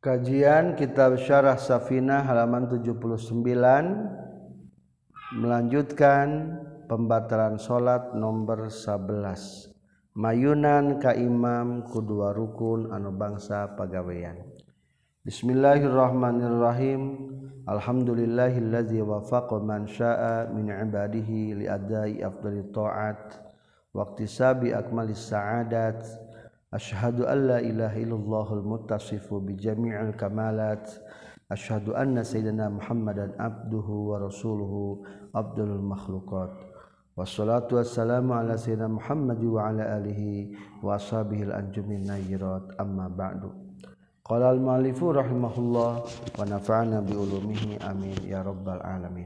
Kajian Kitab Syarah Safinah halaman 79 melanjutkan pembatalan salat nomor 11. Mayunan ka imam kudua rukun anu bangsa pagawean. Bismillahirrahmanirrahim. Alhamdulillahillazi wafaqa man syaa min ibadihi li adai afdhalit ta'at wa iktisabi akmalis sa'adat. Asyhadu an la ilaha illallahul muttasifu bi jami'il kamalat. Asyhadu anna sayyidina Muhammadan abduhu wa rasuluhu abdul makhluqat. Wassalatu wassalamu ala sayyidina Muhammad wa ala alihi wa ashabihi al-anjumin nayyirat amma ba'du. Qala al-mu'allifu rahimahullah wa nafa'ana bi ulumihi amin ya rabbal alamin.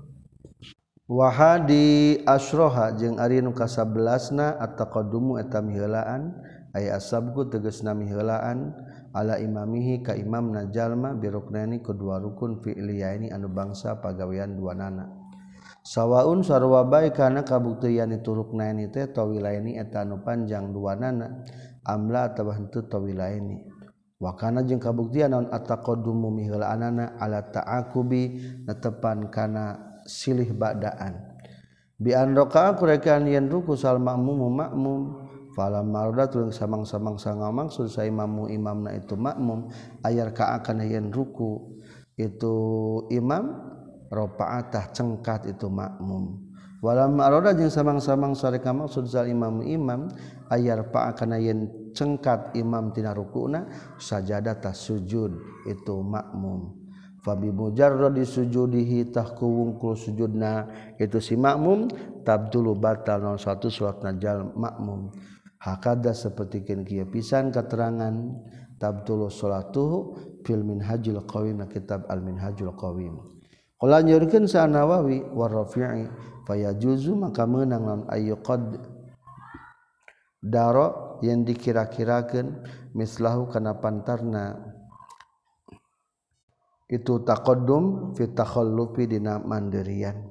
Wa hadi asroha jeung ari nu ka-11na at-taqaddumu eta miheulaan aya asabku tegasna miheulaan ala imamihi ka imamna jalma biruknani kedua rukun fi'liyaini anu bangsa pagawean duanana sawaun sarua bae kana kabuktian itu ruknaini teh tawilaini eta anu panjang duanana amla atawa henteu tawilaini wa kana jeung kabuktian naon at-taqaddumu miheulaanana ala ta'aqubi netepan kana silih ba'daan bi an raka'a kurekan yen ruku sal makmum falam marodat tulung samang-samang sangamangsud sa imamna itu makmum ayar ka'akan yen ruku itu imam rafa'atah cengkat itu makmum walam marodat jeung samang-samang sareka maksud sa imam ayar pa'akan yen cengkat imam tina rukuna sajadatah sujud itu makmum fabi mujarradi sujudihi tahku wungkul sujudna itu si makmum tabdulu batal non satu salatna jal makmum hakada sapertikeun kieu pisan katerangan tabdulu salatuhu fil minhajul qawim kitab al minhajul qawim qala nyurkeun sa Nawawi wa Rafi'i fayajuzu maka meunang naon ayyuqad daro yang dikira-kirakeun mislahu kana pantarna itu taqaddum fi takhallufi dina mandirian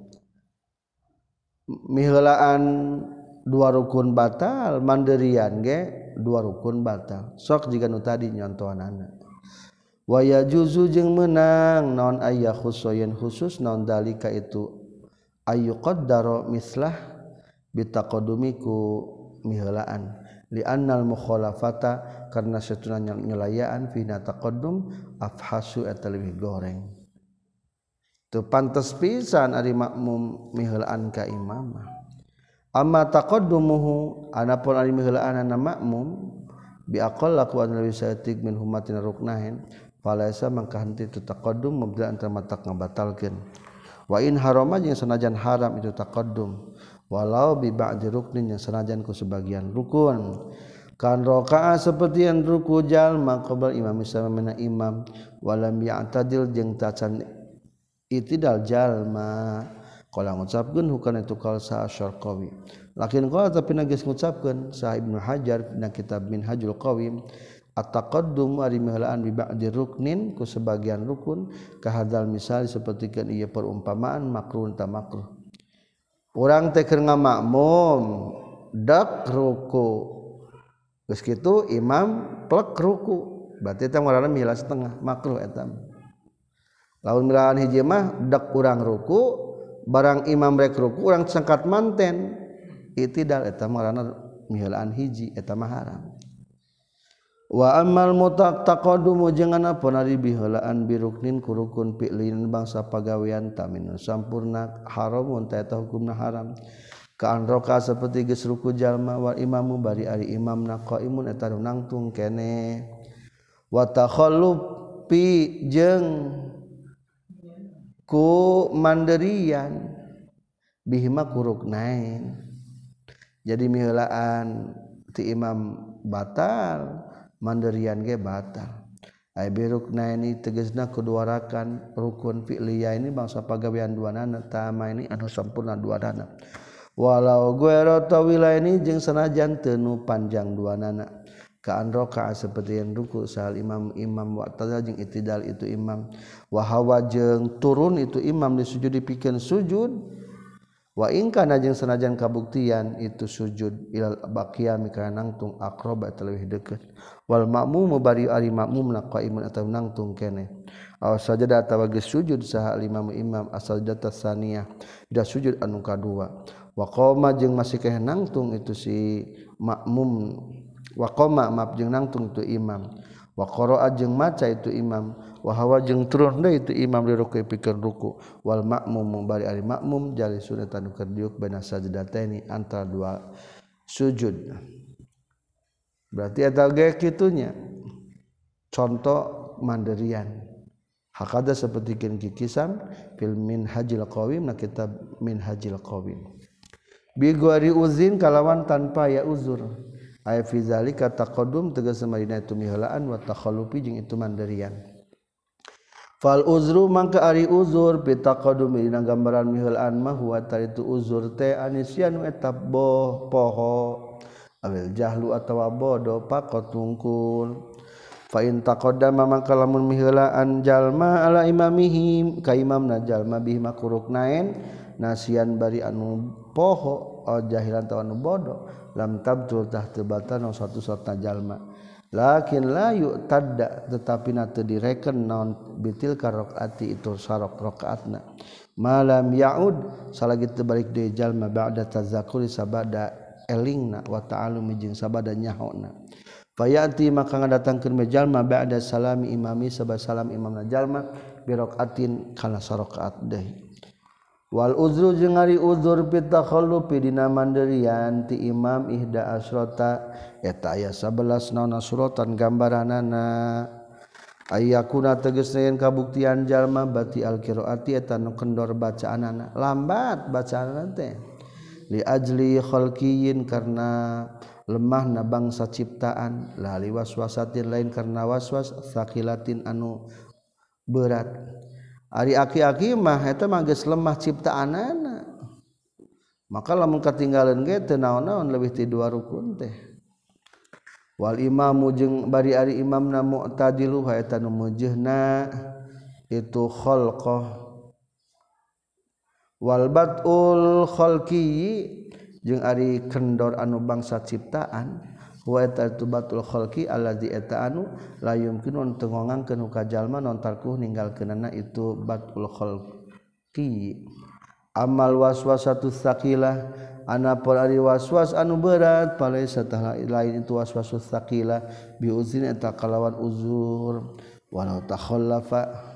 miheulaan dua rukun batal mandirian ge dua rukun batal sok jiga nu tadi nyontohanana wa yajuzu jeung meunang naon aya khusuyan khusus naon dalika itu ayu qaddara mislah bitaqaddumiku miheulaan li annal mukhalafata karna satuna nyelayaan fi taqaddum afhasu eta leuwih goreng teu pantes pisan ari makmum miheulaan ka imam amma taqaddumuhu anapun ari miheulaan makmum bi aqalla ku anu saeutik min humatina ruknahin falaisa mangka henteu itu taqaddum mubda antara matak ngabatalkeun wa in harama jeung sanajan haram itu taqaddum walau bi ba'di ruknin yang sanajan ku sebagian rukun kan raka'a saperti yang ruku jalma qabla imam samana imam walam ya'tadil jeung tacan itidal jalma qala ngucapkeun hukana itu qaul sa Syarqawi lakin qala tapi geus ngucapkeun sa Ibnu Hajar dina kitab Minhajul Qawim at-taqaddum ari miheulaan bi ba'di ruknin ku sebagian rukun ka hadzal misal sapertikeun ieu perumpamaan makruh ta makruh urang teh keur ngamakmum dak ruku geus kitu imam plek ruku berarti teh ngaranna mihela setengah makruh eta lamun milaan hiji mah dak urang ruku barang imam rek ruku urang sangkat manten itidal eta ngaranna miheulaan hiji eta mah haram wa ammal mutaqaddumu jeung anapun ari biheulaan biruknin ku rukun fi'lin bangsa pagawean tamin sampurna haramun ta eta hukumna haram ka anroka saperti geus ruku jalma wal imamu bari ari imamna qaimun eta nu nangtung keneh wa takhallufi jeung ku mandirian bihima kuruknain jadi miheulaan ti imam batal mandirian ge batal ai biruknaini tegasna kedua rakan rukun fi'liyah ini bangsa pagawean duanana tama ini anu sampurna duanana walau guero tawilaini jeung sanajan teu nu panjang duanana ka an raka'a saperti yang ruku sahal imam wa tadal jeung itidal itu imam wa hawa jeung turun itu imam disujud dipikeun sujud wa in kana jeung sanajan kabuktian itu sujud ilal baqiyami kana nangtung aqrab leuwih deukeut wal ma'mum bari ari makmumna qaimun atawa nangtung keneh aw sajada atawa geus sujud saha imam as-sajdah tsaniyah da sujud anu kadua wa qoma jeung masih keneh nangtung itu si makmum wa qoma maaf jeung nangtung tu imam wa qara'a jeung maca itu imam wa hawa jeung turun deui itu imam di ruku pikeun ruku wal makmum bari ari makmum jali sunatan keur diuk baina sajdataini antara dua sujud berarti eta ge kitunya contoh mandirian hakada sapertikeun kikisan fil minhajil qawim na kitab minhajil qawim bi ghairi uzin kalawan tanpa ya uzur aya fi zalika taqaddum tegas marina itu miheulaan wa takhallufi jeung itu mandirian fal uzru mangka ari uzur bi taqaddum dina gambaran miheulaan mah wa taritu uzur teh anisyanu eta poho awil jahlu atawa bodo pakot tungkul fa in taqaddama mangka lamun miheulaan jalma ala imamihim ka imamna jalma bihi makuruk naen nasian bari anu poho o jahilan tawa anu bodoh lam tabtul tahta batana satu-satna jalma lakin la yu'tadda tetapi na teu direken naon bitil rakaati itu sarok rakaatna malam yaud salagi teu balik deui jalma ba'da tazakkuri sabada elingna wa ta'allumi jeung sabada nyahona fayati maka ngadatangkeun jalma ba'da salami imami sabada salam imamna jalma bi rakaatin kana sarakaat deui wal uzru jeung ari uzur fi takhallufi dina mandirian ti imam ihda asrota eta aya 11 naon suratan gambaranana ayyakuna tegasna yen kabuktian jalma bati alqiraati eta nu kendor bacaanana lambat bacaanana teh li ajli khalqiyin karena lemahna bangsa ciptaan la li waswasatin lain karena waswas sakilatin anu berat ari aki-aki mah eta mah geus lemah ciptaanana maka lamun katinggaleun ge teu naon-naon leuwih ti 2 rukun teh wal imamu jeung bari ari imamna mu'tadilu eta nu mujeuhna itu khalqah wal badul khalqi jeung ari kendor anu bangsa ciptaan wa eta tubatul khalqi allazi eta anu la yumkinu teu ngongangkeun ka jalma non tarkuh ninggalkeunana itu batul khalqi amal waswasatu saqilah anapun ari waswas anu berat palaisa tah lain itu waswasus saqilah bi uzin eta kalawan uzur walau takhallafa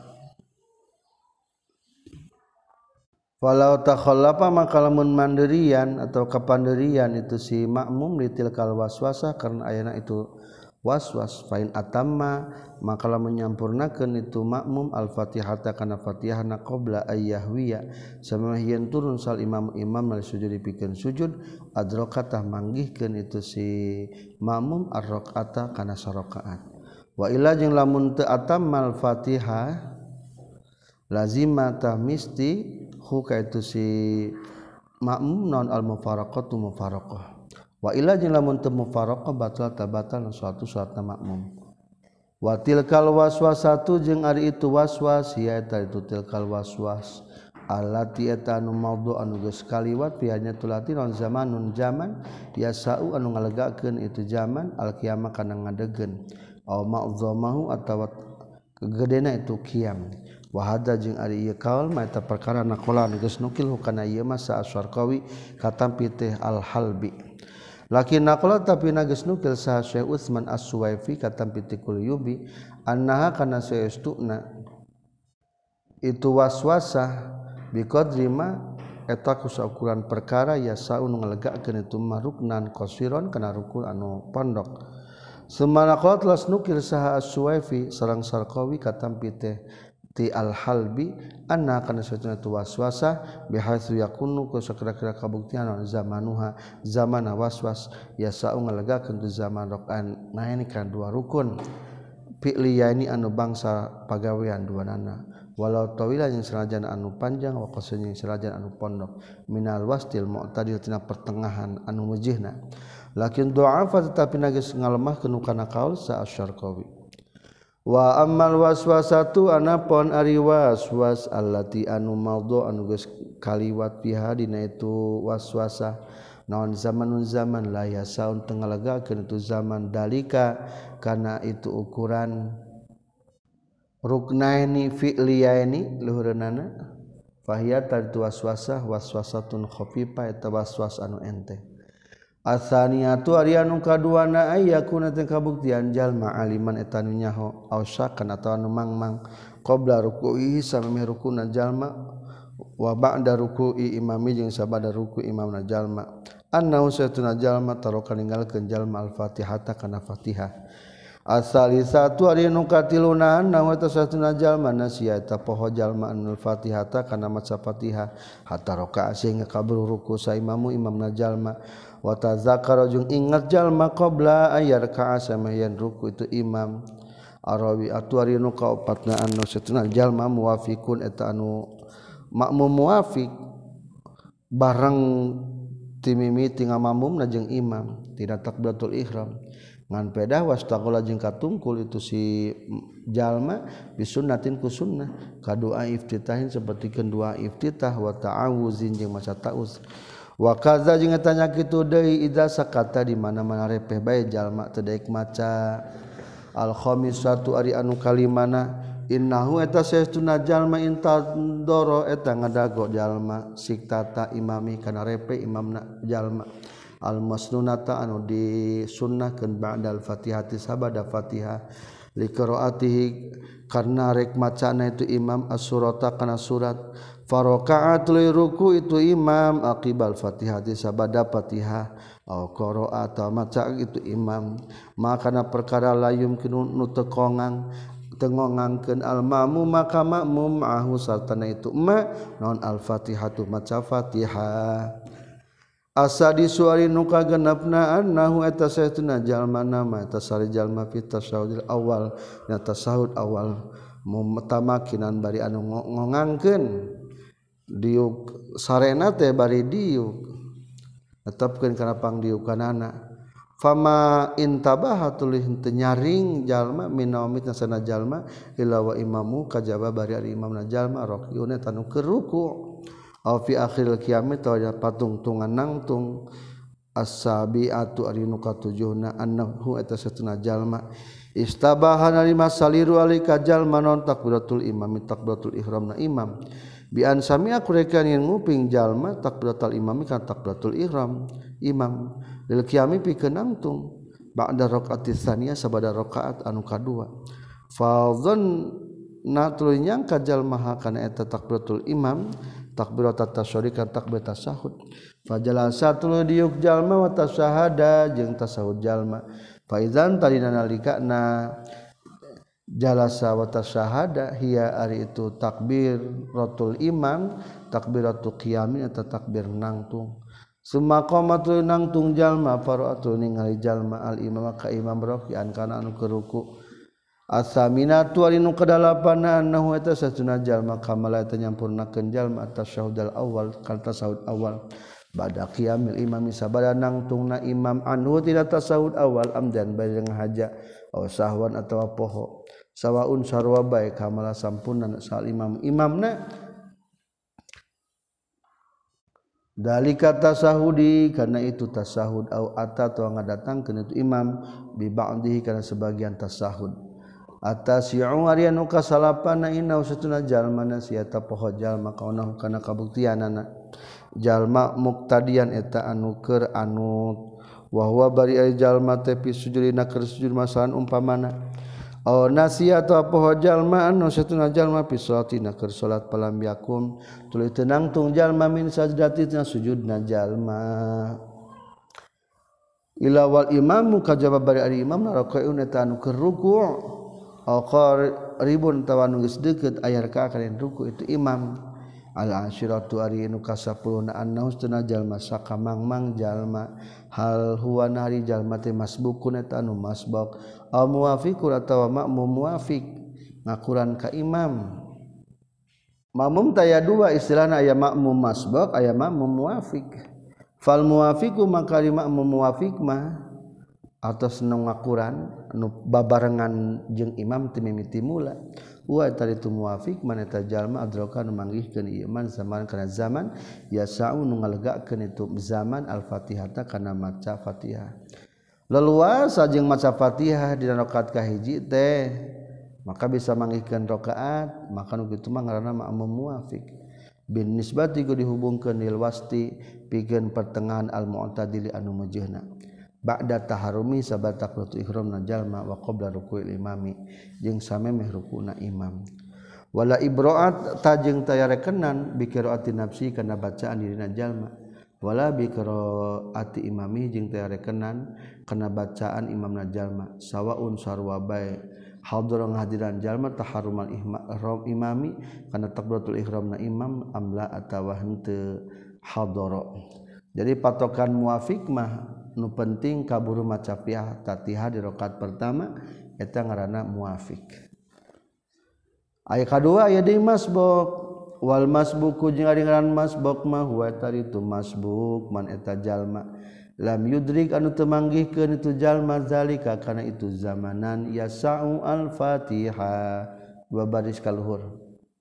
walau takhallafa maka lamun mandirian atau kapandirian itu si makmum litilkal waswasah karena ayana itu waswas fain atamma maka lamun nyampurnakeun itu makmum al-fatihata kana fatihahna qabla ayyahwiya samahieun turun sal imam mali sujud pikeun sujud adrokatah manggihkeun itu si makmum ar-rakaata kana sarakaat wa illa jeung lamun teu atammal fatihah lazimata misti huka itu si makmum non al mufaraqatu mufaraqah wa illa jeung lamun teu mufaraqah batal tabatal suatu salatna makmum wa tilkal waswasatu jeung ari itu waswas ya eta itu tilkal waswas allati eta anu maudhu anu geus kaliwat pianya tulati non zamanun zaman yasau anu ngalegakeun itu zaman al qiyamah kana ngadegen aw ma'zamahu atawa kegedena itu qiyam wa hadza jeung ari ieu kaul mah eta perkara naqalan geus nukil hukana ieu mah sa asyarqawi katampi teh al-halbi lakin naqala tapi geus nukil sa Syekh Utsman As-Suwaifi katampi teh Qulyubi annaha kana saestuna itu waswasah biqadri ma eta kusaukuran perkara ya saun ngalegakeun itu maruknan qasiron kana rukun anu pondok semana qala telas nukil saha As-Suwaifi sareng Sarqawi katampi teh ti al-halbi anna kana satuna tu waswasa bihaitsu yakunu ku sakira-kira kabuktian zamanuha zamana waswas yasau ngalegakeun tu zaman rokaan naen kana 2 rukun fi'liyani anu bangsa pagawean duanana walau tawila yang sanajan anu panjang wa qasanya yang sanajan anu pondok minal wastil mu'tadil tina pertengahan anu mujihna lakin du'afa tetapi nagis ngalemah kana kaul sa asyarqawi wa ammal waswasatu anapun ari waswas allati anu maudhu anu geus kaliwat piha dina itu waswasah naon zaman la yasaun teu ngalegakeun itu zaman dalika kana itu ukuran ruknaini fi'liyaini luhureunana fahiya taritu waswasah waswasatun khafifah eta waswas anu enteng asaniatu ari anu kaduana ayyakuna teh kabuktian jalma aliman eta nu nyaho ausakan atawa anu mangmang qabla ruku'i samemeh rukuna jalma wa ba'da ruku'i imami jeung sabada ruku' imamna jalma annahu satuna jalma taroka ninggalkeun jalma al-fatihata kana fatihah asalisatu ari nu katiluna nahu eta satuna jalma nasiya eta poho jalma al-fatihata kana maca fatihah hatta raka'a sehingga kabur ruku' sa imamu imamna jalma wa tazakkara jeung ingat jalma qabla ayyarka'a samayan ruku' itu imam arawi atu ari nu kaopatna anu satuna jalma muwafiqun eta anu makmum muwafiq bareng timimiti ngamamumna jeung imam tidak takbiratul ihram ngan pedah wastaqala jeung katungkul itu si jalma bisunnatin ku sunnah kadua iftitahin sapertikeun dua iftitah wa ta'awuzin jeung maca ta'awuz wa kaza jeung eta nya kitu deui idza sakata di mana-mana repeh bae jalma teu daek maca al khamisatu ari anu kalimana innahu eta saestuna jalma intadoro eta ngadago jalma siktata imami kana repe imamna jalma al masnunata anu disunnahkeun ba'dal fatihati sabada fatihah li qiraatihi karna rek macana itu imam as-surata kana surat faraqa'atul ruku itu imam aqibal fatihati sabada fatihah au qira'a atau maca itu imam makana perkara layum kinu nu tekongang tengongangkeun al-ma'mum maka makmum ahu sartana itu ma naon al-fatihatu maca fatihah asadi suari nu kagenepna annahu eta saestuna jalma nama eta sari jalma fi tasyahudil awal na tasahud awal mutamakinan bari anu ngongangkeun diuk sarena teh bari diuk netepkeun kana pangdiukanana fama intabaha tulih teu nyaring jalma minaumit sana jalma illa wa imamu kajaba bari ari imamna jalma raqiun eta nu keur ruku' aw fi akhiril qiyamah tawaya patungtungan nangtung as-sabiatu ari nu katujuhna annahu eta satuna jalma istabahana lima saliru alika jalma non takbiratul imami takbiratul ihramna imam bi an sami'a kurekan yang nguping jalma takbiratul imami kan takbiratul ihram imam lil qiyami pikeun nangtung ba'da raqatis tsaniyah sabada rakaat anu kadua fadzan natul nyangka jalma kana eta takbiratul imam takbiratat tasyahud kan takbirat tasyahud fajalasa tuluy diuk jalma wa tasyahada jeung tasahud jalma fa idzan talina nalikana jalasa wa tasyahada hiya ari itu takbiratul imam takbiratul qiyamin eta takbir nangtung summa qamatul nangtung jalma fara'atul ningali jalma al imam ka imam raqi'an kana anu keruku asaminatu ari nu kadalapanna annahu eta satuna jalma kamala eta nyampurnakeun jalma tasyahudal awal kan tasahud awal ba'da qiyamil imam sabada nangtungna imam anhu tidak tasahud awal amdan bari ngahaja aw sahwan atawa poho sawaun sarwa bae kamala sampurna sal imam imamna dalika tasahudi karena itu tasahud au ata atau ngadatangkeun itu imam bi ba'dihi kana sebagian tasahud atasi'u ari anu kasalapanna inna usatuna jalma nasiata poho jalma kauna kana kabuktianana jalma muqtadian eta anu keur anut wa huwa bari ari jalma teh fi sujudina keur sujud masalan umpamana aw nasiata poho jalma anu satuna jalma fi salatina keur salat palambiakum tuluy teu nangtung jalma min sajdatina sujudna jalma ila wal imamu kajaba bari ari imam rakaun eta anu keur ruku' ribun tawan geus deukeut aya rakaat kana ruku itu imam al-ashiratu ari nu ka-10 annahu sunna jalma saka mangmang jalma hal huwa nari jalma teh masbukun eta anu masbuk aw muwafiqun atawa makmum muwafiq ngakuran ka imam makmum taya dua istilahna aya makmum masbuk aya makmum muwafiq fal muwafiqu makari makmum muwafiq mah atau seneng ngakuran nu babarengan jeung imam ti mimiti mula wa tari tu muafiq maneta jalma adraka nu manggihkeun ieu man zaman kana zaman yasau nu ngalegakeun itu zaman al-fatihata kana maca Fatihah leluasa jeung maca Fatihah dina rakaat kahiji teh maka bisa manggihkeun rakaat maka nu kitu mah ngaranna ma'mum muafiq bin nisbati ku dihubungkeun lil wasti pikeun pertengahan al-mu'tadili anu mujeuhna ba'da taharumi sabat takbiratul ihramna jalma wa qabla ruku'il imami jeung samemeh rukuna imam wala ibra'at tajeng tayarekenan bi qiraati nafsi kana bacaan dirina jalma wala bi qiraati imami jeung tayarekenan kana bacaan imamna jalma sawaun sarwa bae hadra ngahadiran jalma taharumal ihram imami kana takbiratul ihramna imam amla atawa henteu hadara jadi patokan muafiq mah nu penting kaburu maca Fatihah di rakaat pertama eta ngaranna muafiq. Aya kadua aya deui masbuk wal masbuku jeung ari ngaran masbuk mah huwa tari tu masbuk man eta jalma lam yudrik anu teu manggihkeun itu jalma zalika kana itu zamanan yasau al-Fatihah dua baris kaluhur.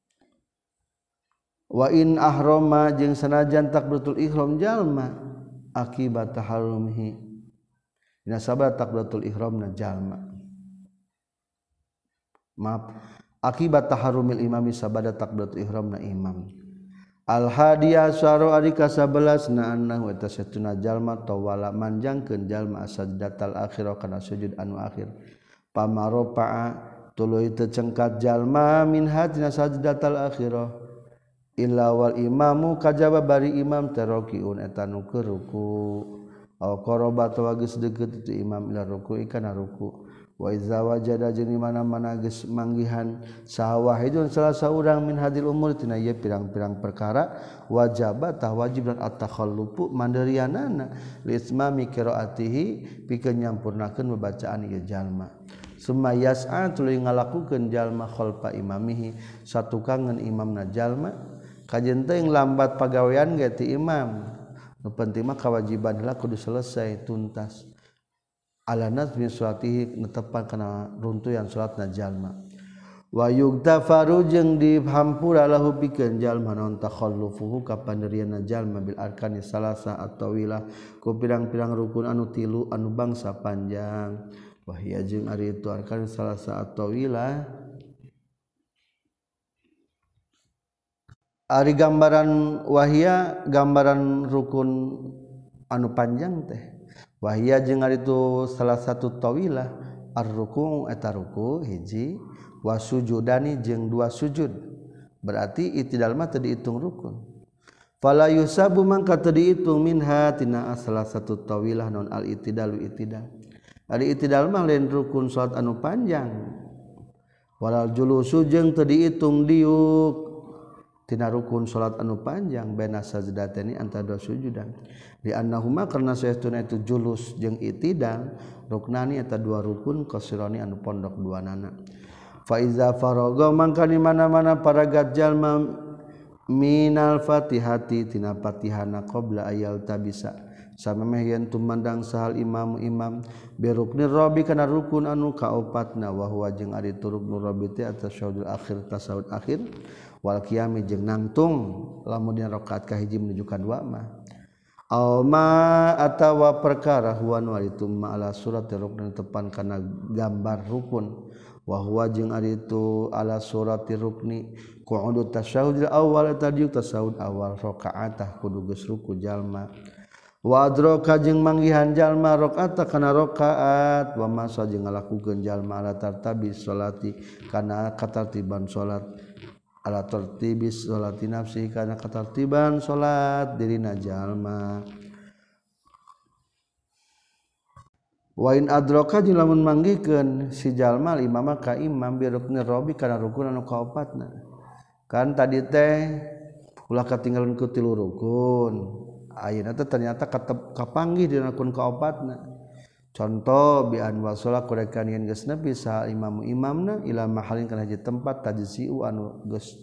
Wa in ahrama jeung sanajan takbiratul ihram jalma akibat taharumihi dina sabab takbiratul ihramna jalma maaf akibat taharumil imami sabada takbiratul ihramna imam al hadiyah syara ari ka 11 na annahu eta satuna jalma tawala manjangkeun jalma asajdatal akhirah kana sujud anu akhir pamaropa'a tuluy teu cengkat jalma min hadina sajdatal akhirah illa wal imamu kajaba bari imam tarokiun eta nu keur ruku aw qaraba atawa geus deukeut itu imam ila ruku kana ruku wa iza wajada jeung mana-mana geus manggihan sahawahidun salah saurang min hadil umur tina ieu pirang-pirang perkara wajaba tah wajib dan at-takhallufu manderianana li ismami qiraatihi pikeun nyampurnakeun babacaan ieu jalma summa yas'a tuluy ngalakukeun jalma khalfa imamihi satukangan imamna jalma kajen teh lambat pagawean ge ti imam nu penting mah kewajiban heula kudu selesai tuntas ala nazmi salatihi netepan kana runtuyan salatna jalma wa yugtafaru jeung dihampura lahu pikeun jalma naon takhallufuhu ka panderianna jalma bil arkani salasa at-tawilah ku pirang-pirang rukun anu tilu anu bangsa panjang wahia jeung ari itu arkan salasa at-tawilah ari gambaran wahia gambaran rukun anu panjang teh wahia jeung ari itu salah satu tawilah ar-ruku eta ruku hiji wasujudani jeung dua sujud berarti itidal mah teu diitung rukun fala yusabu mangka teu diitung minha tina salah satu tawilah non al-itidalu itidal ari itidal mah lain rukun salat anu panjang walal julusu jeung teu diitung diuk tina rukun salat anu panjang baina sajdatani antara dua sujudan di annahuma karna saestuna itu julus jeung itidal ruknani eta dua rukun qasirani anu pondok duanana fa iza faraga mangka di mana-mana paragat jalma minal fatihati tina fatihana qabla ayal tabisa samemeh yen tumandang sahal imam birukni rabi kana rukun anu kaopatna wa huwa jeung ari ruknu rabi teh atasyahudul akhir tasawuf akhir wal qiyami jeung nangtung lamun dina rakaat kahiji menuju ka dua mah aw ma atawa perkara huwa nu itu ma ala surat rukun tepan kana gambar rukun wa huwa jeung ari itu ala surati rukni qu'udut tasyahudil awal tadi tasawuf awal rakaatah kudu geus ruku jalma wa adraka jeung manggihan jalma rakaata kana rakaat wa masa jeung ngalakukeun jalma ala tartabi salati kana katartiban salat ala tartibis salati nafsi kana katartiban salat dirina jalma wa in adraka jeung lamun manggihkeun si jalma imam ka imam bi rukni rabi kana rukun anu kaopatna kan tadi teh ulah katinggalan ku tilu rukun ayeuna teh ternyata kapanggih dina rukun kaopatna contoh bi an wasala kurekan yen geus nepi sa imamna ila mahalin kana hiji tempat tajsiu anu geus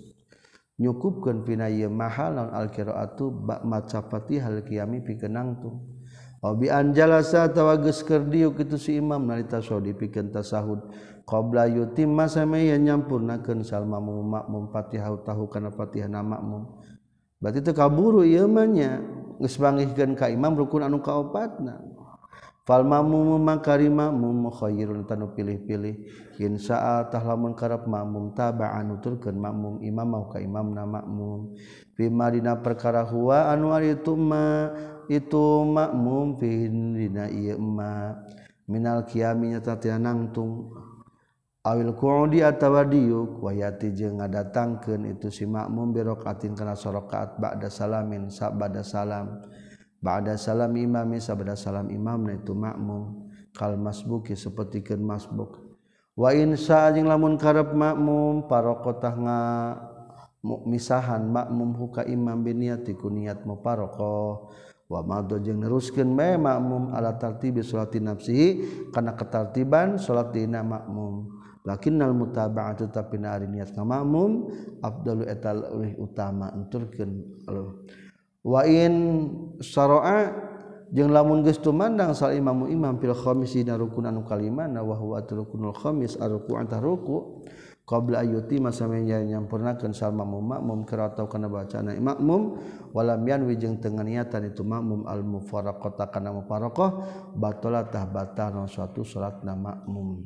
nyukupkeun pina ieu mahal naon al qiraatu ba maca Fatihah qiyami pikeun nangtung Obi anjalasa tawages kerdiuk itu si imam nalita sodi pikeun tasahud qabla yutimma samaya nyampurnakeun sal makmum Fatihah tahu kana Fatihah na makmum. Berarti teu kaburu ieu mah nya geus bangihkeun ka imam rukun anu kaopatna. Fal makmum makari makmum khairun tanu pilih-pilih insya tah lamun karep makmum taba'an nuturkeun makmum imam mau ka imamna makmum bima dina perkara huwa anu ari itu makmum fi dina ieu ma minal qiyami nyata tina nangtung awil qu'udi atawa diuk wayati jeung ngadatangkeun itu si makmum bi rakaatin kana sarakaat ba'da salamin sabada salam ba'da salam imami sabada salam imamna itu makmum kal masbuki sapertikeun masbuk wa insya jeung lamun karep makmum paraqatah misahan makmum huka imam biniati ku niat muparaqah wa madho jeung neruskeun bae makmum ala tartibi salati nafsihi kana ketartiban salat dina makmum lakinnal mutaba'atu tapi ari niat ka makmum afdalu eta leuwih utama enturkeun wa in syara'a jeung lamun geus tumandang sal imamu imam fil khamis dina rukun anu kalimana wa huwa rukunul khamis arruku anta ruku qabla ayuti masamanya nyampurnakeun sal makmum kira atau kana bacana makmum walam yanwi jeung teu niatan itu makmum al mufaraqata kana mufaraqah batalatah batal suatu salatna makmum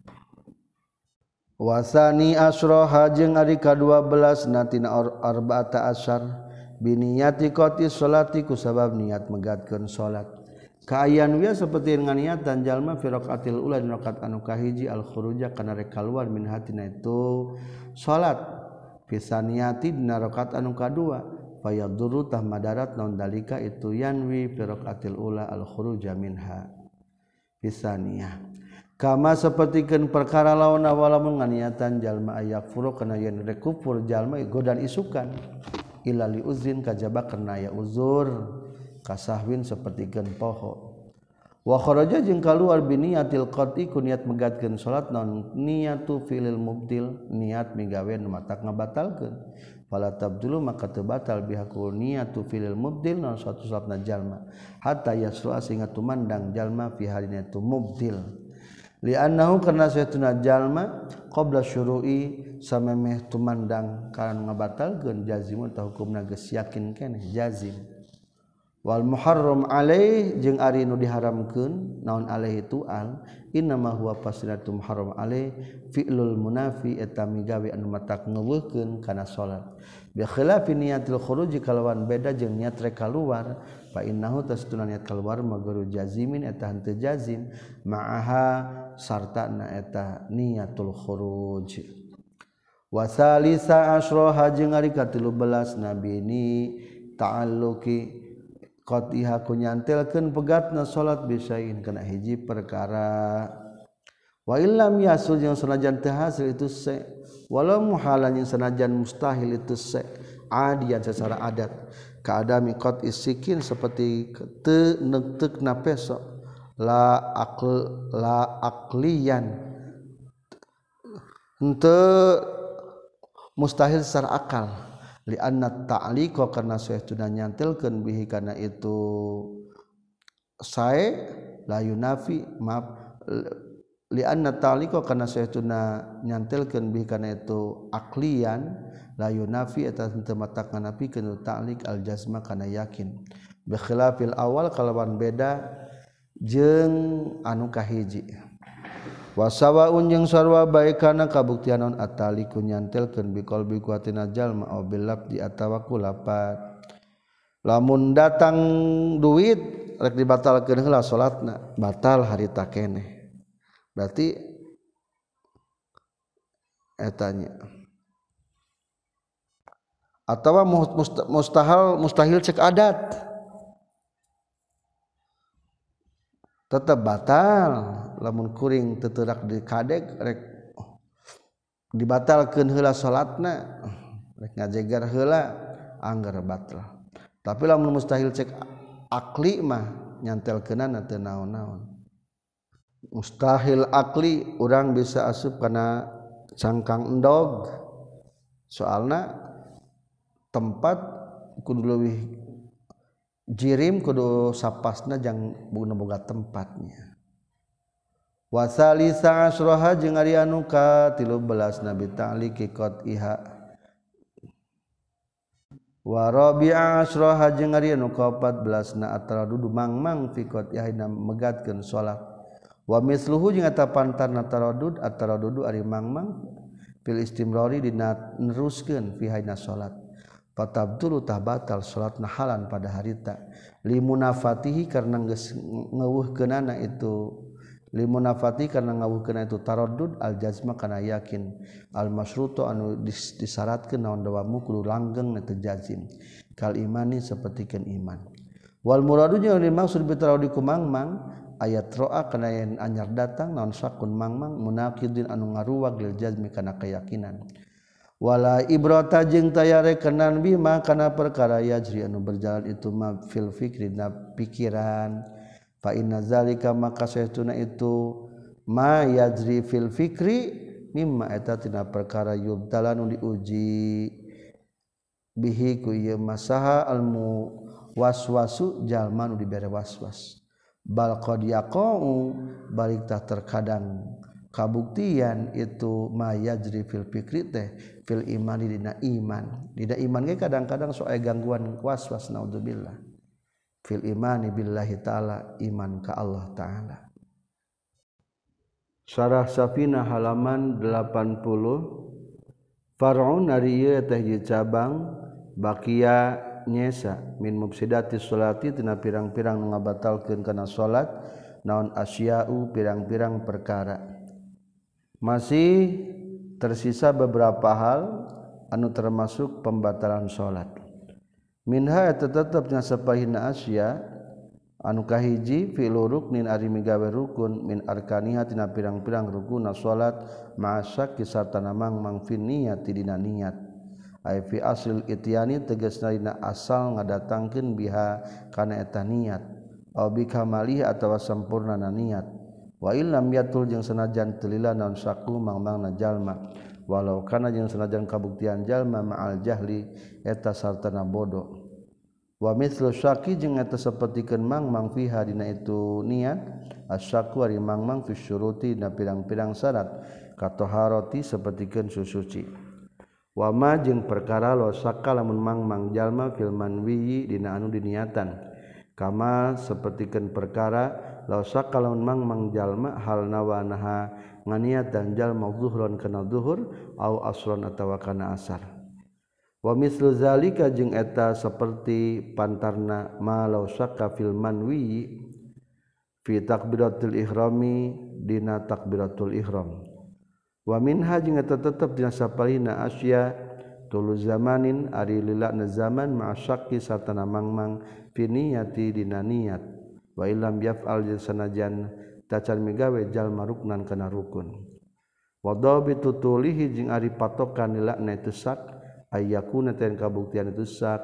wasani asroha jeung ari ka-12 natina arba'ata asyar biniyati qati sholati ku sabab niat megatkeun salat kaayan wieu saperti nganiatan jalma fi raqatil ula dina rakaat anu kahiji al khuruja kana rek kaluar min hatina itu salat fi saniyati dina rakaat anu kadua fayadurru tah madarat naon dalika itu yanwi fi raqatil ula al khuruja minha fi saniyah kama sapertikeun perkara lawan awalamun nganiatan jalma ayak furu kana yen rek kufur jalma godan isukan illa li uzin kajaba kana aya uzur kasahwin sapertikeun poho wa kharaja jeung kaluar bi niyatil qati ku niat megatkeun salat naon niyatu fi'il mubtil niat migawe nu matak ngabatalkeun fala tabdulu maka teu batal bihaku niyatu fi'il mubtil naon suatu salatna jalma hatta yasru'a sehingga tumandang jalma fi halina itu mubtil li'annahu karna saytuna jalma qabla syuru'i samemeh tumandang kana ngabatalkeun jazimun ta hukumna geus yakin keneh jazim wal muharram alaih jeung ari nu diharamkeun naon alaih itu al innama huwa fasiratum haram alaih fi'lul munafi eta migawe anu matak ngeuweuhkeun kana salat bi khilafi niyatil khuruj kalawan beda jeung niat rek kaluar fa innahu tasduna niat kaluar maguru jazimin eta henteu jazim ma'aha sartana eta niyatul khuruj wa salisa asyra jeung ari ka-13 nabi ni ta'alluqi qatiha ku nyantelkeun pegatna salat bisain kana hiji perkara wa illam yasul jeung sanajan teu hasil itu se walau muhalan jeung sanajan mustahil itu se adian secara adat kaadami qati sikin seperti teu neuteukna peso la aqliyan henteu mustahil secara akal li anna ta'liqa karna saytuna nyantelkeun bihi kana itu sae la yunafi maaf li anna ta'liqa karna saytuna nyantelkeun bihi kana itu aqliyan la yunafi eta teu matak nganapikeun ta'liq al jazma kana yakin bi khilafil awal kalawan beda jeung anu kahiji wasawaun jeung sarwa bae kana kabuktian naon ataliku nyantelkeun bi qalbi kuatina jalma au bilab di atawa ku lapat lamun datang duit rek dibatalkeun heula salatna batal harita keneh berarti etanya atawa mustahil cek adat tetap batal lamun kuring teu teurak dikadek rek dibatalkeun heula salatna rek ngajegar heula anggar batal tapi lamun mustahil cek akli mah nyantelkeunana teu naon-naon mustahil akli urang bisa asup kana cangkang endog soalna tempat kudu leuwih jirim kudu sapasna jang boga tempatnya. Wasalisa asroha jeung ari anu ka 13 nabi ta'liqi qad iha. Wa rabi'a asroha jeung ari anu ka 14 na ataradudu mangmang fi qad iha megatkeun salat. Wa misluhu jeung eta pantarna ataradudu ari mangmang fil istimrari dina neruskeun fi hayna salat. Fatabdulu tah batal salatna halan pada harita limunafatihi karena geus ngeuweuhkeunana itu limunafati karena ngawuhkeun itu taraddud al jazma kana yakin al masyrutu anu disyaratkeun naon dawamu kudu langgeng na jazim kal imani sapertikeun iman wal muradu jeung dimaksud bi taraddud ku mangmang ayat ro'a kana yen anyar datang naon sakun mangmang munaqidin anu ngaruwag lil jazmi kana keyakinan wala ibrata jeung tayare kenan bima kana perkara yajri anu berjalan itu ma fil fikri na pikiran fa inna zalika maka saytuna itu ma yajri fil fikri mimma eta tina perkara yubtala nu diuji bihi ku ieu masaha almu waswasu jalma nu dibere waswas bal qad yaqau balik tah terkadang kabuktian itu ma yajri fil fikri teh fil imani dina iman ge kadang-kadang sok aya gangguan waswas naudzubillah fil imani billahi ta'ala iman ka Allah ta'ala. Syarah Safinah halaman 80 far'un ari ieu teh cabang baqiya nyesa min mufsidati sholati tina pirang-pirang nu ngabatalkeun kana salat naon asya'u pirang-pirang perkara masih tersisa beberapa hal anu termasuk pembatalan salat. Minha tetapnya sapahina asya anu kahiji fi'lu ruknin ari migawe rukun min arkaniha tina pirang-pirang rukun salat ma'asyak sartana mangmang fi niyati dina niat ai fi aslil ityani tegasna dina asal ngadatangkeun biha kana eta niat au bi kamalihi atawa sampurnana niat wa illam yatul jeung sanajan teu lila naon saku mangmangna jalma walau kana jeung sanajan kabuktian jalma ma'al jahli eta sartana bodoh wa mithlu syaki jeung eta sapertikeun mangmang fiha dina itu niat asyaku ari mangmang fi syuruti dina pirang-pirang syarat katoharati sapertikeun susuci wa ma jeung perkara lo sakala lamun mangmang jalma fil manwi dina anu diniatan kama sapertikeun perkara lo sakala lamun mangmang jalma hal nawanaha nganiatan jalma zuhron kana zuhur au asron atawa kana asar wa mislu zalika jeung eta saperti pantarna malau syakka fil manwi fi takbiratul ihrami dina takbiratul ihram wa minha jeung eta tetep dina sapalina asya tulu zamanin ari lilana zaman ma syakki sartana mangmang fi niyati dina niat wa illam yaf'al jeung sanajan tacan migawe jalma ruknan kana rukun wa dhabitu tulihi jeung ari patokan lilana itu sak ayyakuna ten kabuktian itu sak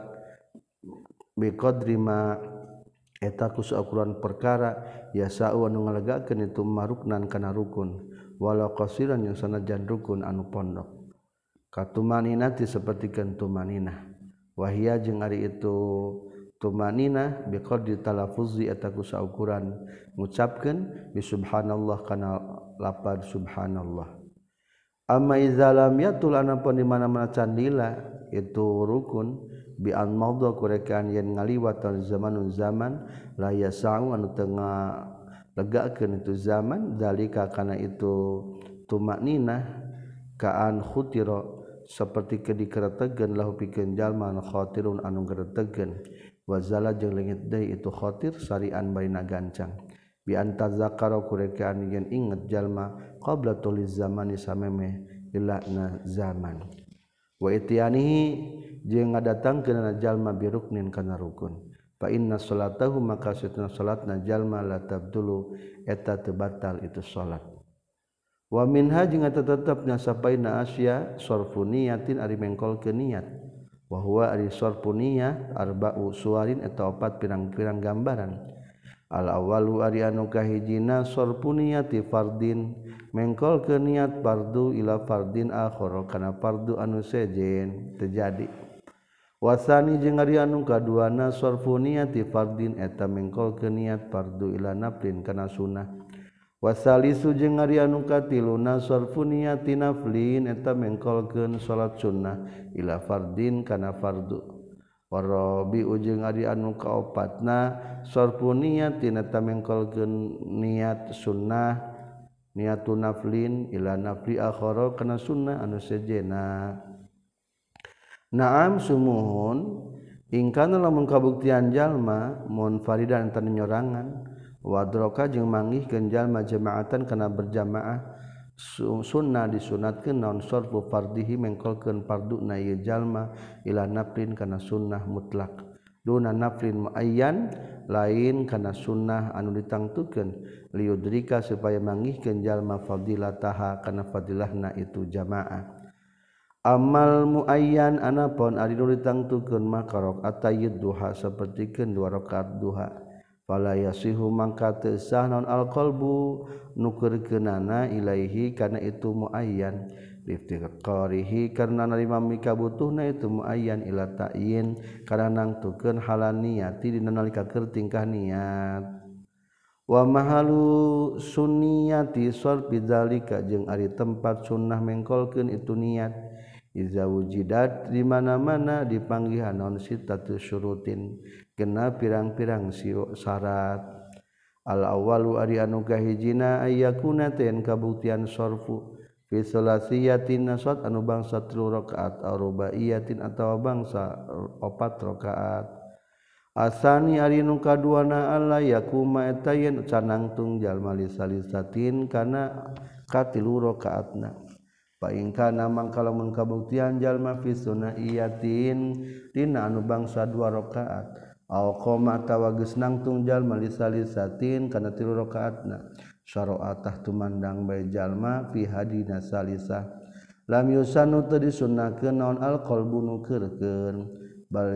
biqadri ma eta ku saukuran perkara yasau anu ngalegakeun itu maruknan kana rukun walau qasiran yang sanajan rukun anu pondok katumanina ti sapertikeun tumanina wahia jeung ari itu tumanina biqadri talaffuzi eta ku saukuran ngucapkeun bi subhanallah kana lapad subhanallah. Amma idza lam yatul anapun di mana-mana candila itu rukun bi an maudha kurekaan yen ngaliwat zamanun zaman la yasau anu tengah legakeun itu zaman zalika kana itu tumakninah kaan khutira saperti dikeretegeun lahu pikeun jalma khatirun anu geretegeun wa zala jeung leungit deui itu khatir sarian baina gancang bi antazakara kurekaan yen inget jalma qabla tuliz zamani sameme ilana zaman wa ityanihi jeung ngadatangkeun jalma biruknin kana rukun fa inna salatahu maka satuna salatna jalma la tabdulu eta teu batal itu salat wa minha jeung tetepna sapaina asya sarfu niyatin ari mengkolkeun niat wa huwa ari sarfu niyat arba'u suwarin eta opat pirang-pirang gambaran al awalu ari anu kahijina sarfu niyati fardin mengkolkeun niat fardu ila fardin akhar kana fardu anu sejen terjadi wasani jeung ari anu kaduana sarfu niati fardin eta mengkolkeun niat fardu ila naflin kana sunnah wasalisu jeung ari anu katiluna sarfu niati naflin eta mengkolkeun salat sunnah ila fardin kana fardu warabi jeung ari anu kaopatna sarfu niati eta mengkolkeun niat sunnah niatun naflin ila nafli akhara kana sunnah anu sejena. Naam sumuhun ingkana lamun kabuktian jalma munfaridan tan nyorangan wadroka jeung manggihkeun jalma jamaatan kana berjamaah sunnah disunatkeun naon sarfu fardihi mengkolkeun farduna ieu jalma ila naflin kana sunnah mutlak duna naflin muayyan lain kana sunnah anu ditangtukeun liudrika supaya manggihkeun jalma fadilataha kana fadilahna itu jamaah. Amal muayyan anapun ari nu ditangtukeun mah rakaat tayyid duha sapertikeun 2 rakaat duha fala yasihu mangka teu sah naon alqalbu nukeurkeunana ilaihi kana itu muayyan liftiqarihi karna narima mikabutuhna itu muayyan ila ta'yin kana nangtukeun halan niati dina nalika keur tingkah niat wa mahalu sunniyati sarfi dzalika jeung ari tempat sunnah mengkolkeun itu niat iza wujidat di mana-mana dipanggihan naon sitatu syurutin genep pirang-pirang syarat al awwalu ari anu kahijina ayyakuna ten kabuktian sarfu fi salasiyatin nasat anu bangsa 3 rakaat aw rubaiyatin atawa bangsa 4 rakaat asani ari nu kaduana alla yakuma eta yen canangtung jalma lisalisatin kana katilu rakaatna paingkana mangkala mun kabuktian jalma fi sunaiyatin dina anu bangsa 2 rakaat aw qoma atawa geus nangtung jalma lisalisatin kana 3 rakaatna syara'atah tumandang bae jalma fi hadina salisah lam yusanu teu disunnahkeun naon alqalbu nukeurkeun bal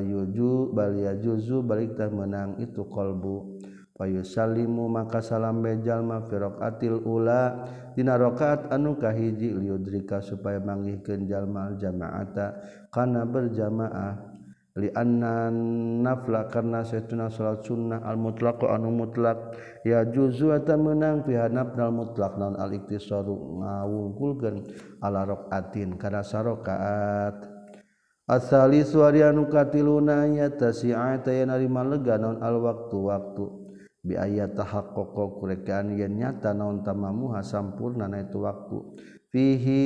yajuzu balik teh menang itu qalbu fayusallimu maka salam bae jalma fi raqatil ula dina rakaat anu kahiji liudrika supaya manggihkeun jalma al jamaata kana berjamaah li anna nafla karna satuna salat sunnah al mutlaq anu mutlak ya juzu eta meunang fi hanafal mutlaq naon al iktisaru ngawungkulkeun ala raqatin kana sarakaat asali suari anu katiluna ya tasi'ata ya narima lega naon al waktu bi ayat tahaqqaqa kurekaan yen nyata naon tamamuha sampurna na itu waktu fihi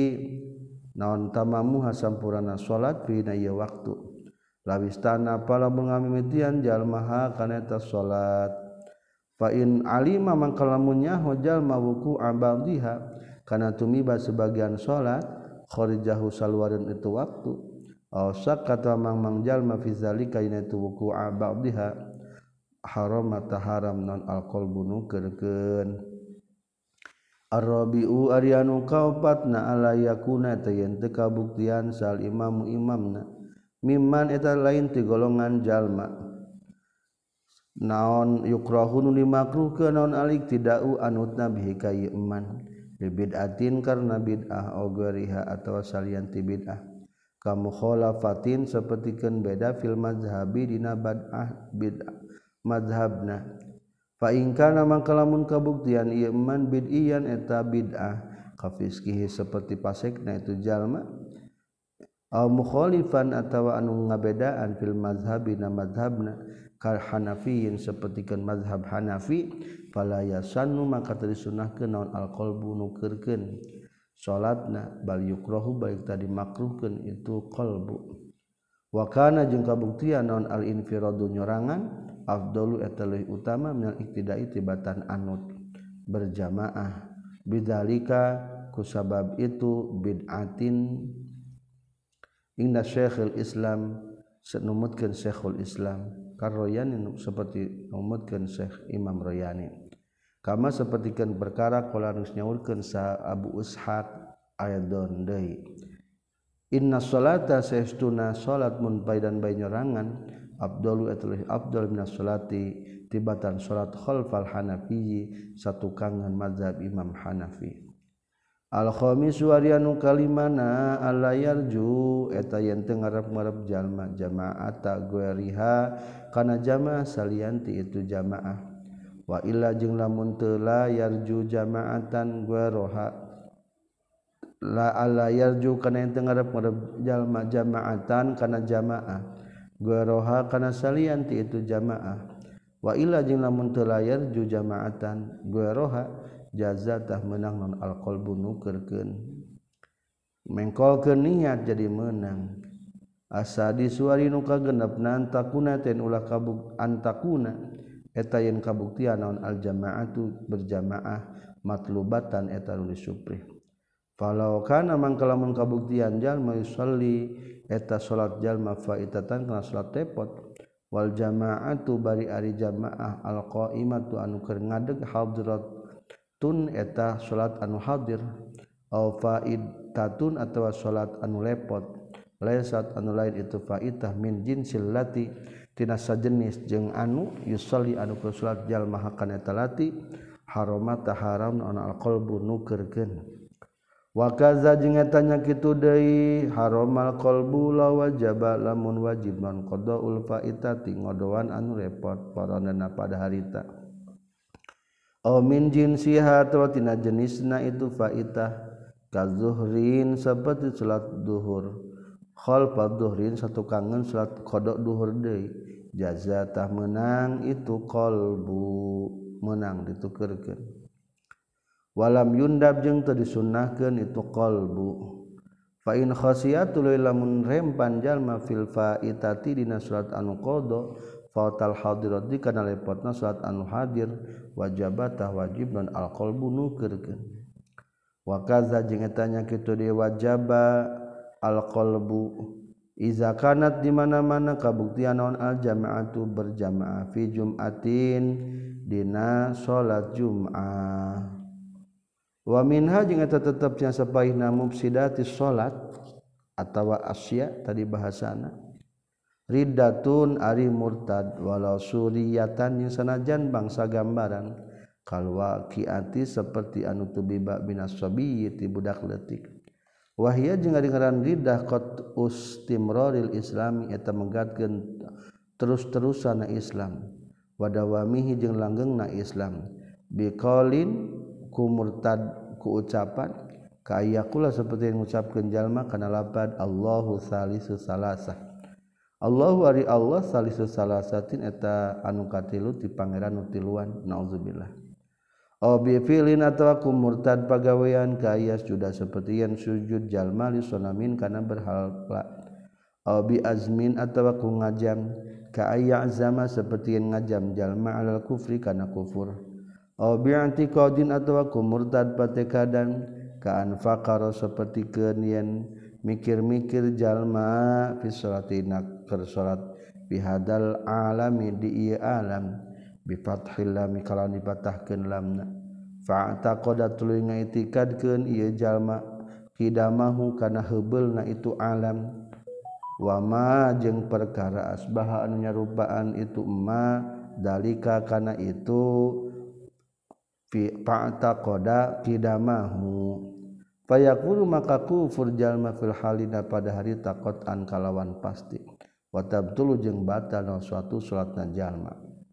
naon tamamuha sampurna salat fi na ieu waktu lawistana pala mengamimitian jalmaha kana eta salat fa in alima mangka lamun nyaho jalma wuku abadiha kana tumiba sebagian salat kharijahu salwareun itu waktu aw sakata mang jalma fi zalika ina itu wuku abadiha haram mata haram non alqalbu nukeurkeun arabiu arianu kaopatna ala yakuna tayen teu kabuktian sal imamu imamna mimman eta lain ti golongan jalma naon yukrahun limakruhkeun naon alik tidau anutna bihi ka iman bid'atin karna bid'ah au gariha atawa salian ti bid'ah kamu khalafatin sapertikeun beda fil mazhabi dina bid'ah mazhabna fa in kana mangka lamun kabuktian ieu man bid'iyan eta bid'ah kafiskihi seperti pasekna itu jalma aw mukhalifan atawa anu ngabedaan fil mazhabi na mazhabna kal hanafiyin sapertikeun mazhab Hanafi fala yasannu maka teu disunnahkeun naon alqalbu nukeurkeun salatna bal yukrahu balik tadi makruhkeun itu qalbu wa kana jeung kabuktian naon al infiradu nyorangan afdalu eta leuwih utama minal iktidai tibatan anut berjamaah bidzalika kusabab itu bid'atin inna Syekhul Islam senumutkeun Syekhul Islam karoyani seperti numutkeun Syekh Imam Royani kama sapertikeun perkara qala nyaulkeun sa Abu Ishaq ayadon deui inna sholata saestuna salat mun paidan bae nyorangan afdalu atuh afdal minas salati tibatan salat khalfal hanafi satu kangan mazhab Imam Hanafi al-khamis warianu kalimana alayarju eta yen teu ngarep-ngarep jalma jamaata gueriha kana jamaah salianti itu jamaah wa illa jeung lamun teu la yarju jamaatan gueroha la alayarju kana yen teu ngarep-ngarep jalma jamaatan kana jamaah gueroha kana salianti itu jamaah wa illa jeung lamun teu la yarju jamaatan gueroha jazatah menang non alqalbu nukerkeun mengkolkeun niat jadi menang asadi suari nu kagenepna antakuna ten ulah kabuk antakuna eta yen kabuktian naon aljamaatu berjamaah matlubatan eta nu disuprih falau kana mangka lamun kabuktian jalma yusalli eta salat jalma faitatan kana salat tepot wal jamaatu bari ari jamaah alqaimatu anu keur ngadeg hadrat tun eta salat anu hadir au faidatun atawa salat anu lepot laisat anu lain itu faidah min jinsil lati tina sajenis jeung anu yusalli anu keur salat jalma hakana eta lati haramata haram ana alqalbu nukeurkeun wa kaza jeung eta nya kitu deui haramal qalbu la wajaba lamun wajib non qadaul faitati ngodoan anu repot paranana pada harita aw min jinsiha atawa tina jenisna itu faitah kazuhrin saperti salat duhur khalfa duhrin satukangeun salat qada duhur deui jazatah menang itu qalbu menang ditukeurkeun walam yundab jeung teu disunnahkeun itu qalbu fa in khasiyatul lamun rempan jalma fil faitati dina salat anu qada fatal hadirati kana lepotna salat anu hadir wajabatah wajib non alqalbu nukeurkeun wa kaza jeung eta nya kitu di wajaba alqalbu iza kanat di mana-mana kabuktian naon aljamaatu berjamaah fi jumatin dina salat jumaah wa minha jeung eta tetep nya sapaihna mufsidatis salat atawa asya tadi bahasana riddatun ari murtad walau suriyatan yang sanajan bangsa gambaran kalwa kiati seperti anu tubiba binas sabiyyi ti budak leutik wahia jeung ari ngaran riddah qat ustimraril islami eta menggatkeun terus-terusan Islam wadawamihi jeung langgengna Islam biqaulin ku murtad ku ucapan kayakula seperti ngucapkeun jalma kana lapad Allahu salisu salasah Allahu ari Allah salisu salasatin eta anu katilu ti pangeran nu tiluan naudzubillah aw bi fi'lin atawa ku murtad pagawean ka ayas juda saperti yen sujud jalma li sonamin kana berhala aw bi azmin atawa ku ngajam ka ayazama saperti yen ngajam jalma alal kufri kana kufur aw bi i'tiqadin atawa ku murtad patekadan ka anfaqara saperti keun yen mikir-mikir jalma fi salatina keur salat bihadal alami di ieu alam bi fathil lam kalau dipatahkeun lamna fa taqada tuluy ngaitikadkeun ieu jalma qidamahu kana heubeulna itu alam wa ma jeung perkara asbaha anu nyarupaan itu ma dalika kana itu fi taqada qidamahu fayaqulu maka kufur jalma fil halina pada hari taqatan kalawan pasti wa tabtulu jeung batal suatu salatna jalma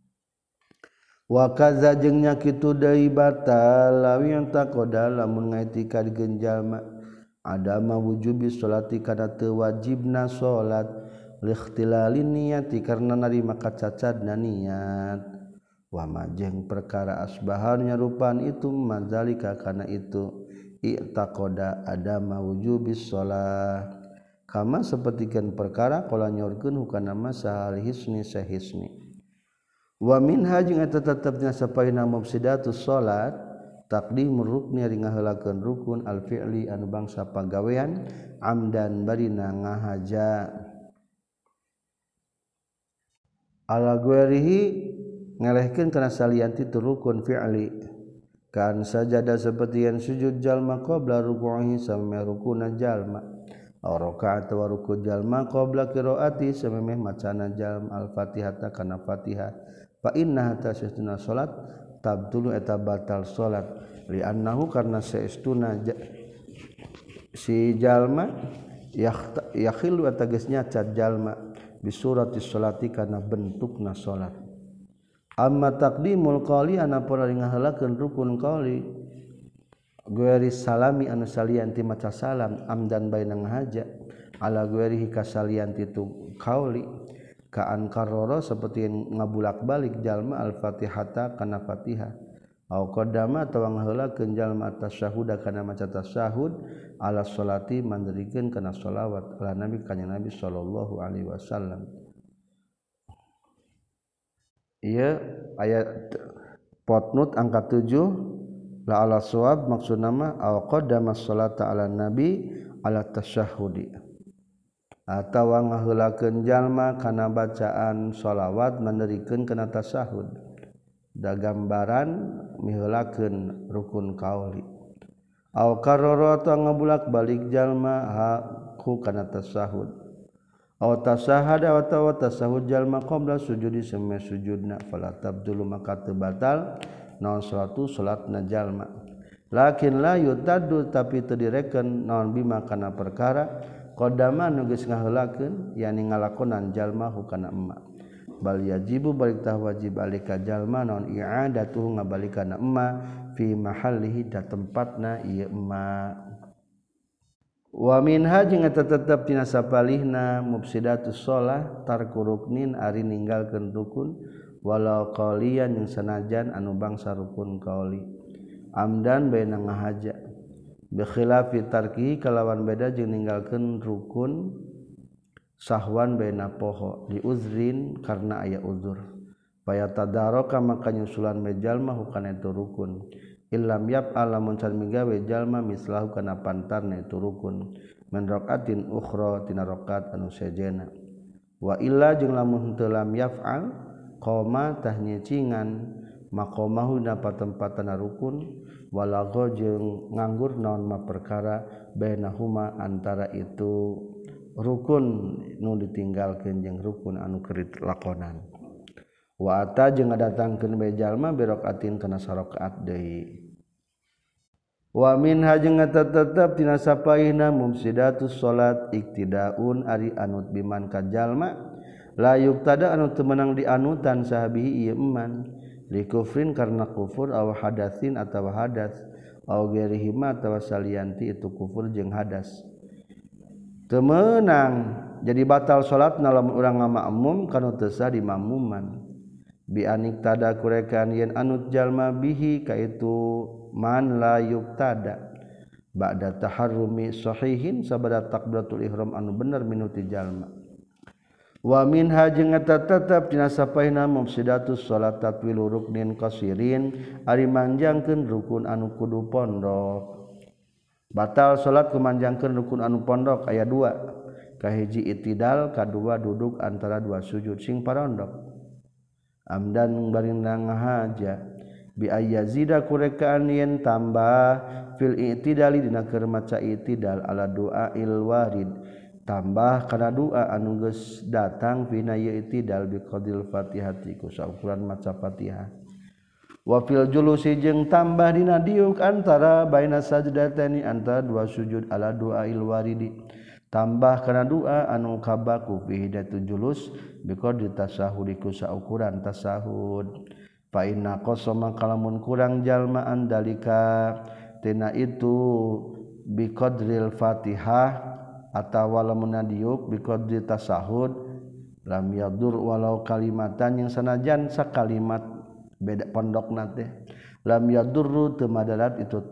wa kaza jeung nya kitu deui batal lawi yang taqada lamun ngaitikadkeun jalma adama wujubi sholati kana teu wajibna salat liikhtilalin niyati karna narima kacacadna niat wa majeng perkara asbahan nyarupaan itu madzalika kana itu i'taqada adama wujubis shalah kama sapertikeun perkara qala nyorkeun hukana masal hisni sahisni wa minha jeung eta tetepna sapaina mufsidatus salat taqdimur rukni ari ngaheulakeun rukun al fi'li anu bangsa pagawean amdan barina ngahaja ala guerihi ngelehkeun kana salianti tu rukun fi'li kan sajada seperti yang sujud jalma qabla ruku'ihi samemeh rukuna jalma aw rakaat wa ruku' jalma qabla qiraati samemeh macana jalma al-fatihata kana fatihah fa inna tashtuna salat tabtulu eta batal salat li annahu karna saestuna si jalma yakhilu atagesnya cad jalma bisuratis sholati kana bentukna salat. Amma taqdimul qali anapun ngaheulakeun rukun qali gueri salami anu salianti maca salam amdan baina ngahaja ala gueri kasalianti tu qauli ka ankaroro seperti ngabulak-balik jalma al-fatihata kana fatihah au qaddama atawa ngaheulakeun jalma tasyahud kana maca tasyahud ala sholati mandirikeun kana sholawat ala nabi kanjeng nabi sallallahu alaihi wasallam. Ieu ayat potnut angka 7 la ala shawab maksudna mah aw qaddama sholata ala nabi ala tasyahudi atawa ngaheulakeun jalma kana bacaan sholawat mandirikeun kana tasyahud da gambaran miheulakeun rukun qauli aw karara ta ngabulak-balik jalma ku kana tasyahud aw tasahada atawa tasahud jalma qabla sujudi seme sujudna fala tabdulu maka teu batal naon salatu salatna jalma lakin la yutaddu tapi teu direken naon bima kana perkara qadama nu geus ngaheulakeun yani ngalakonan jalma hukana emma bal yajibu balik tah wajib alika jalma naon i'adatuhu ngabalikana emma fi mahallihi da tempatna ieu emma. Wa minha jeung eta tetep tina sapalihna mufsidatus shalah tarku ruknin ari ninggalkeun rukun walau qaliyan yang sanajan anu bangsa rukun qauli amdan baina ngahaja bi khilafi tarki kalawan beda jeung ninggalkeun rukun sahwan baina poho li uzrin karna aya uzur faya tadaraka maka nyusulan jalma hukana itu rukun illam yaf'al lamun can migawe jalma mislahu kana pantarna itu rukun min raqatin ukhra tina rakaat anu sejena wa illa jeung lamun teu lam yaf'al qoma tah nyecingan maqamahu na patempatna rukun walagho jeung nganggur naon ma perkara bainahuma antara itu rukun nu ditinggalkeun jeung rukun anu keur dilakonan wa ata jeung ngadatangkeun bae jalma biraqatin kana sarakaat deui wa minha jeung tetep tina sapaihna mufsidatus salat iktidaun ari anut biman ka jalma la yuqtada anu teu meunang dianutan sahabihi ieu eman li kufrin karna kufur aw hadatsin atawa hadas aw ghairihima atawa salianti itu kufur jeung hadas teu meunang jadi batal salatna lamun urang ngamakmum kana teu sah di makmuman bi anik tada kurekan yen anut jalma bihi kaitu man la yuqtada ba'da taharrumi sahihin sabada takbiratul ihram anu bener minuti jalma wa minha jeung eta tetep tina sapaina mufsidatus salat tatwilu ruknin qasirin ari manjangkeun rukun anu kudu pondok batal salat kumanjangkeun rukun anu pondok aya dua kahiji itidal kadua duduk antara dua sujud sing parondok amdan barinda ngahaja bi ayyazida kurekaan yen tambah fil i'tidali dina keur maca i'tidal ala du'ail warid tambah kana doa anu geus datang pina i'tidal bi qadil fatihati ku saukuran maca Fatihah wa fil julusi jeung tambah dina diuk antara baina sajdatani antara dua sujud ala du'ail waridi tambah kana doa anu kabaku fi hidatul julus bi qadri tasahudi ku saukuran tasahud fa inna qasama kalamun kurang jalmaan dalika tina itu bi qadril Fatihah atawa lamun diuk bi qadri tasahud lam yadur walau kalimatan yang sanajan sakalimat beda pondokna teh lam yadurru teu madarat itu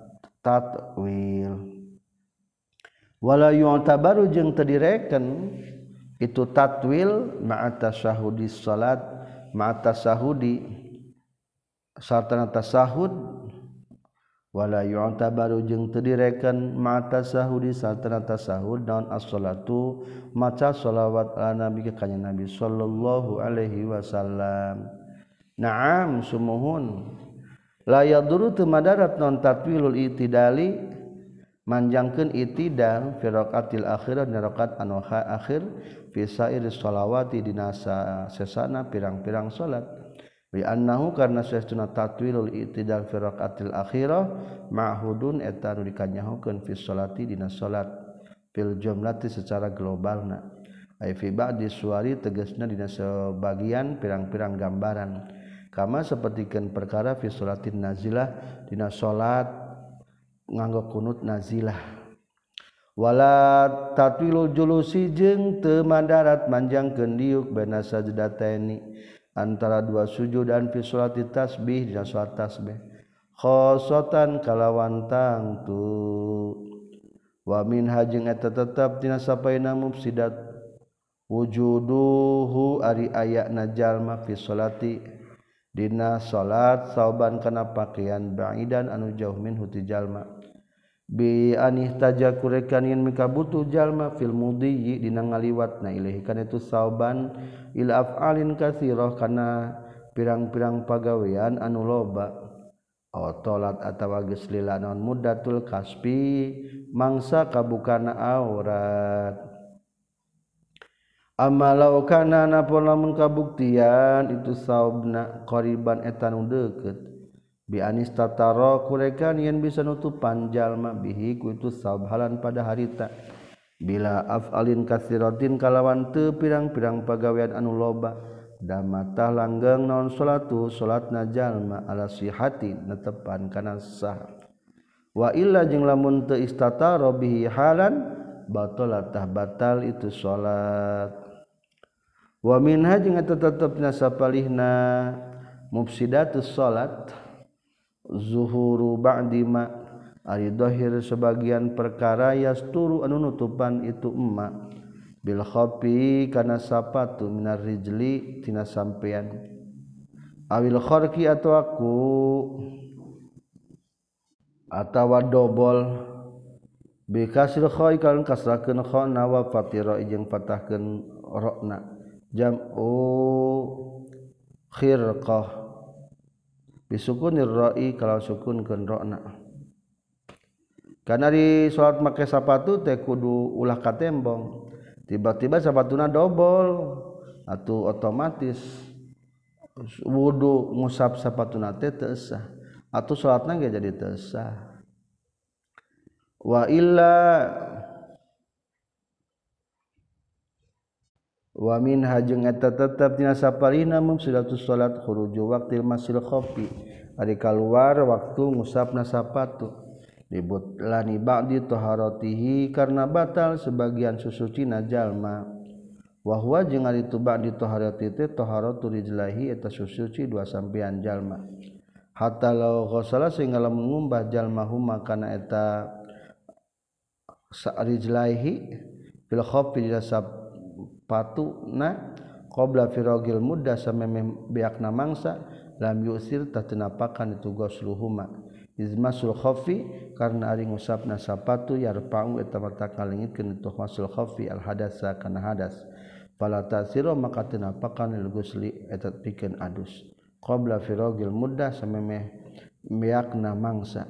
tatwil wala yu'tabaru jeung teu direken itu tatwil ma'a tasyahudi salat ma'a tasahudi sartana tasahud wala yu'tabaru jeung teu direken ma'a tasahudi sartana tasahud naon as-salatu maca shalawat ala nabi ka kanjeng nabi sallallahu alaihi wasallam na'am sumuhun la yaduru teu madarat naon tatwilul itidali manjangkeun itidal fi raqatil akhirah dina rakaat anu akhir fi sairis shalawati dina sesana pirang-pirang salat li annahu karna sesuna tatwilul i'tidal fi raqatil akhirah ma'hudun eta nu dikanyahokeun fi sholati dina salat fil jumlati secara globalna ai fi ba'di suwari tegasna dina sebagian pirang-pirang gambaran kama sapertikeun perkara fi sholatin nazilah dina salat nganggo kunut nazilah wala tatwilul julusi jeung teu mandarat manjangkeun diuk baina sajdataini antara dua sujudan fi sholati tasbih dina salat tasbih khosotan kalawan tangtu wa min hajing eta tetep dina sapaina mufsidat wujuduhu ari ayana jalma fi sholati dina salat sauban kana pakaian ba'idan anu jauh min huti jalma bi anih tajakurekan yen mikabutuh jalma fil mudhi dina ngaliwatna ilahi kana itu sauban ila af'alin katsirah kana pirang-pirang pagawean anu loba otolat atawa geus lila naon muddatul kasbi mangsa kabukana aurat amalau kana napun lamun kabuktian itu saubna qariban eta nu deukeut bi anis tataro kurekan yen bisa nutupan jalma bihi ku itu saubhalan pada harita bila af'alin katsiratin kalawan teu pirang-pirang pagawean anu loba damatah langgeng naon salatu salatna jalma ala sihati netepan kana sah wa illa jeung lamun teu istataro bihi halan batalatah batal itu salat wa minha jeung eta tetepna sapalihna mufsidatus salat zuhuru ba'di ma ari dhahir sebagian perkara yasturu anu nutupan itu emma bil khafi kana sapatu minar rijli tina sampean awil kharqi atau aku atawa dobol bi kasril kha kan kasrakeun kha nawa fatira jeung fatahkeun ra'na jam'u khirqah bisukunir ra'i kalau sukunkeun ra'na kana di salat make sapatu teh kudu ulah ka tembong tiba-tiba sapatuna dobol atuh otomatis wudu ngusap sapatuna teh teu sah atuh salatna ge jadi teu sah wa illa wa min hajeng eta tetep dina saparina mufsidatus salat khuruju waqtil masil khafi ari kaluar waktu ngusapna sapatu libut lani ba'di taharatihi karena batal sebagian susucina jalma wa huwa jeung ari tu ba'di taharati teh taharatu rijlahi eta susuci dua sampean jalma hatta law ghassala sehingga lamun ngumbah jalma huma kana eta rijlaihi fil khafi dina patuna qabla firagil muddah samemeh beakna mangsa lam yusir tatenapakan itu gosluhuma izmasul khafi karna ari ngusapna sapatu yarfa'u eta mata kalingitkeun itu masul khafi al hadasa kana hadas fala tasira maka tenapakan lil gusli eta pikeun adus qabla firagil muddah samemeh beakna mangsa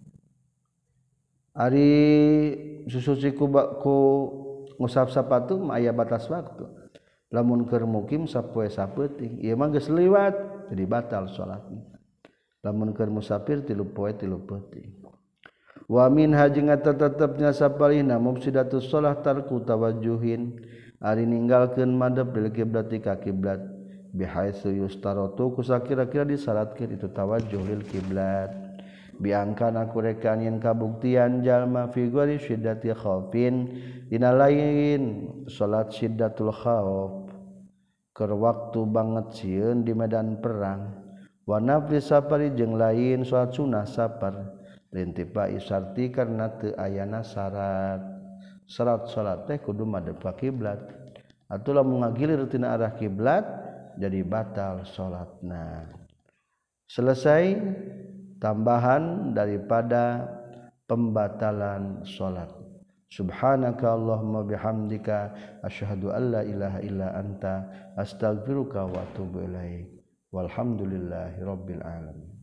ari susuci ku ngusap sapatu mah aya batas waktu lamun keur mukim sapoe sapeuting ieu mah geus liwat jadi batal salatna lamun keur musafir 3 poe 3 peuting wa min hajing tetepnya sapalihna mufsidatus shalah tarku tawajjuhin ari ninggalkeun madhep bil kiblati ka kiblat bihaitsu yustaratu kusakira-kira disyaratkeun itu tawajjuh lil kiblat biangkana kurekan yen kabuktian jalma fi ghairi syiddati khaufin dina lain salat syiddatul khauf keur waktu banget sieun di medan perang wa nafli safari jeung lain salat sunah safar lintipa isarti karna teu ayana syarat salat teh kudu madhep ka kiblat atuh lamun ngagilir tina arah kiblat jadi batal salatna selesai tambahan daripada pembatalan salat subhanaka allahumma bihamdika asyhadu an la ilaha illa anta astaghfiruka wa atubu ilaik walhamdulillahi rabbil alamin